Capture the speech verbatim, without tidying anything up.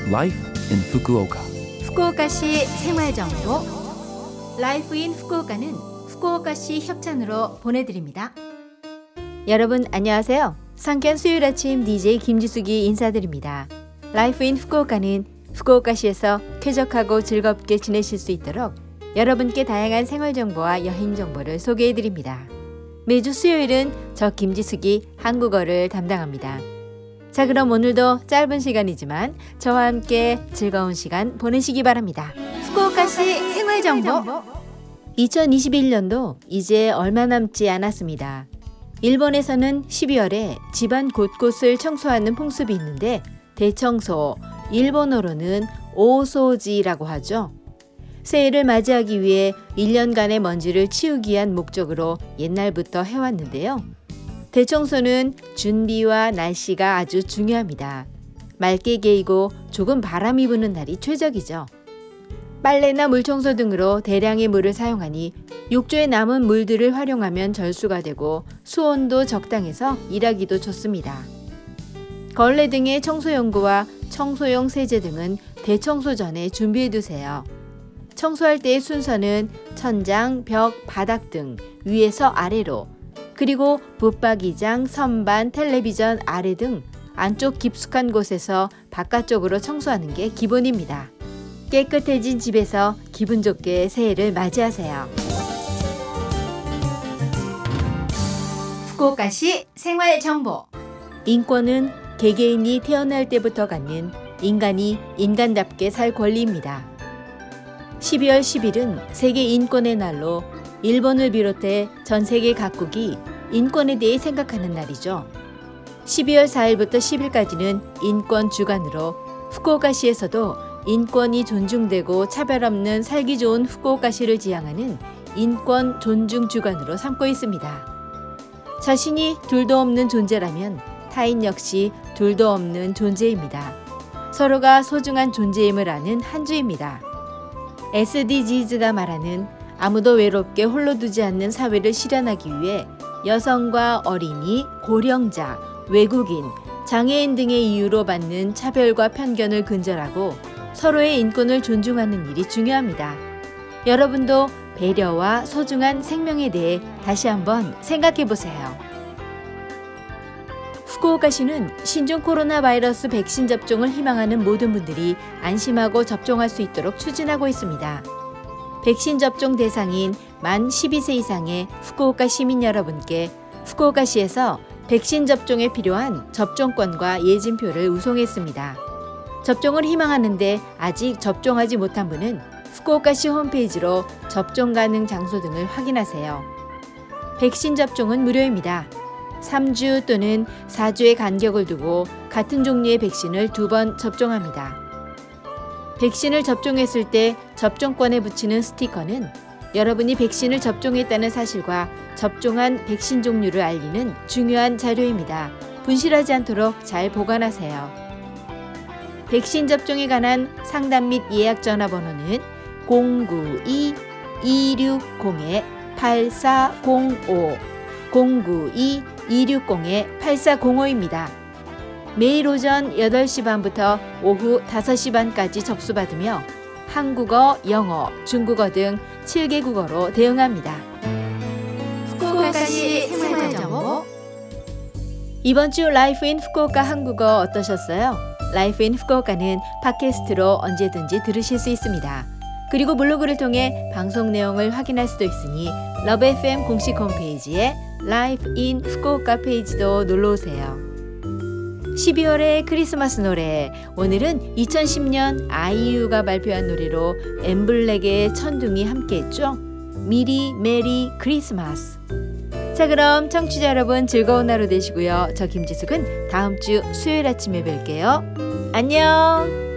Life in Fukuoka. 후쿠오카시 생활정보 라이프 인 후쿠오카는 후쿠오카시 협찬으로 보내드립니다. 여러분 안녕하세요. 상쾌한 수요일 아침 디제이 김지숙이 인사드립니다. 라이프 인 후쿠오카는 후쿠오카시에서 쾌적하고 즐겁게 지내실 수 있도록 여러분께 다양한 생활정보와 여행정보를 소개해드립니다. 매주 수요일은 저 김지숙이 한국어를 담당합니다. 자, 그럼 오늘도 짧은 시간이지만 저와 함께 즐거운 시간 보내시기 바랍니다. 후쿠오카시 생활정보 이천이십일 년도 이제 얼마 남지 않았습니다. 일본에서는 십이월에 집안 곳곳을 청소하는 풍습이 있는데 대청소, 일본어로는 오소지라고 하죠. 새해를 맞이하기 위해 일 년간의 먼지를 치우기 위한 목적으로 옛날부터 해왔는데요. 대청소는 준비와 날씨가 아주 중요합니다. 맑게 개이고 조금 바람이 부는 날이 최적이죠. 빨래나 물청소 등으로 대량의 물을 사용하니 욕조에 남은 물들을 활용하면 절수가 되고 수온도 적당해서 일하기도 좋습니다. 걸레 등의 청소용구와 청소용 세제 등은 대청소 전에 준비해두세요. 청소할 때의 순서는 천장, 벽, 바닥 등 위에서 아래로, 그리고 붙박이장, 선반, 텔레비전 아래 등 안쪽 깊숙한 곳에서 바깥쪽으로 청소하는 게 기본입니다. 깨끗해진 집에서 기분 좋게 새해를 맞이하세요. 후쿠오카시 생활정보 인권은 개개인이 태어날 때부터 갖는 인간이 인간답게 살 권리입니다. 십이월 십일은 세계 인권의 날로 일본을 비롯해 전 세계 각국이 인권에 대해 생각하는 날이죠. 십이월 사일부터 십일까지는 인권 주간으로 후쿠오카시에서도 인권이 존중되고 차별 없는 살기 좋은 후쿠오카시를 지향하는 인권 존중 주간으로 삼고 있습니다. 자신이 둘도 없는 존재라면 타인 역시 둘도 없는 존재입니다. 서로가 소중한 존재임을 아는 한 주입니다. 에스디지즈가 말하는 아무도 외롭게 홀로 두지 않는 사회를 실현하기 위해 여성과 어린이, 고령자, 외국인, 장애인 등의 이유로 받는 차별과 편견을 근절하고 서로의 인권을 존중하는 일이 중요합니다. 여러분도 배려와 소중한 생명에 대해 다시 한번 생각해 보세요. 후쿠오카시는 신종 코로나 바이러스 백신 접종을 희망하는 모든 분들이 안심하고 접종할 수 있도록 추진하고 있습니다. 백신 접종 대상인 만 십이 세 이상의 후쿠오카 시민 여러분께 후쿠오카시에서 백신 접종에 필요한 접종권과 예진표를 우송했습니다. 접종을 희망하는데 아직 접종하지 못한 분은 후쿠오카시 홈페이지로 접종 가능 장소 등을 확인하세요. 백신 접종은 무료입니다. 삼 주 또는 사 주의 간격을 두고 같은 종류의 백신을 두 번 접종합니다. 백신을 접종했을 때 접종권에 붙이는 스티커는 여러분이 백신을 접종했다는 사실과 접종한 백신 종류를 알리는 중요한 자료입니다. 분실하지 않도록 잘 보관하세요. 백신 접종에 관한 상담 및 예약 전화번호는 공구이 이육공 팔사공오 공구이 이육공 팔사공오입니다. 매일 오전 여덟 시 반부터 오후 다섯 시 반까지 접수받으며 한국어, 영어, 중국어 등 칠 개 국어로 대응합니다. 후쿠오카시 생활정보 이번 주 라이프 인 후쿠오카 한국어 어떠셨어요? 라이프 인 후쿠오카는 팟캐스트로 언제든지 들으실 수 있습니다. 그리고 블로그를 통해 방송 내용을 확인할 수도 있으니 러브 에프엠 공식 홈페이지에 라이프 인 후쿠오카 페이지도 놀러오세요. 십이월의 크리스마스 노래, 오늘은 이천십 년 아이유가 발표한 노래로 엠블랙의 천둥이 함께했죠. 미리 메리 크리스마스. 자, 그럼 청취자 여러분 즐거운 하루 되시고요. 저 김지숙은 다음 주 수요일 아침에 뵐게요. 안녕.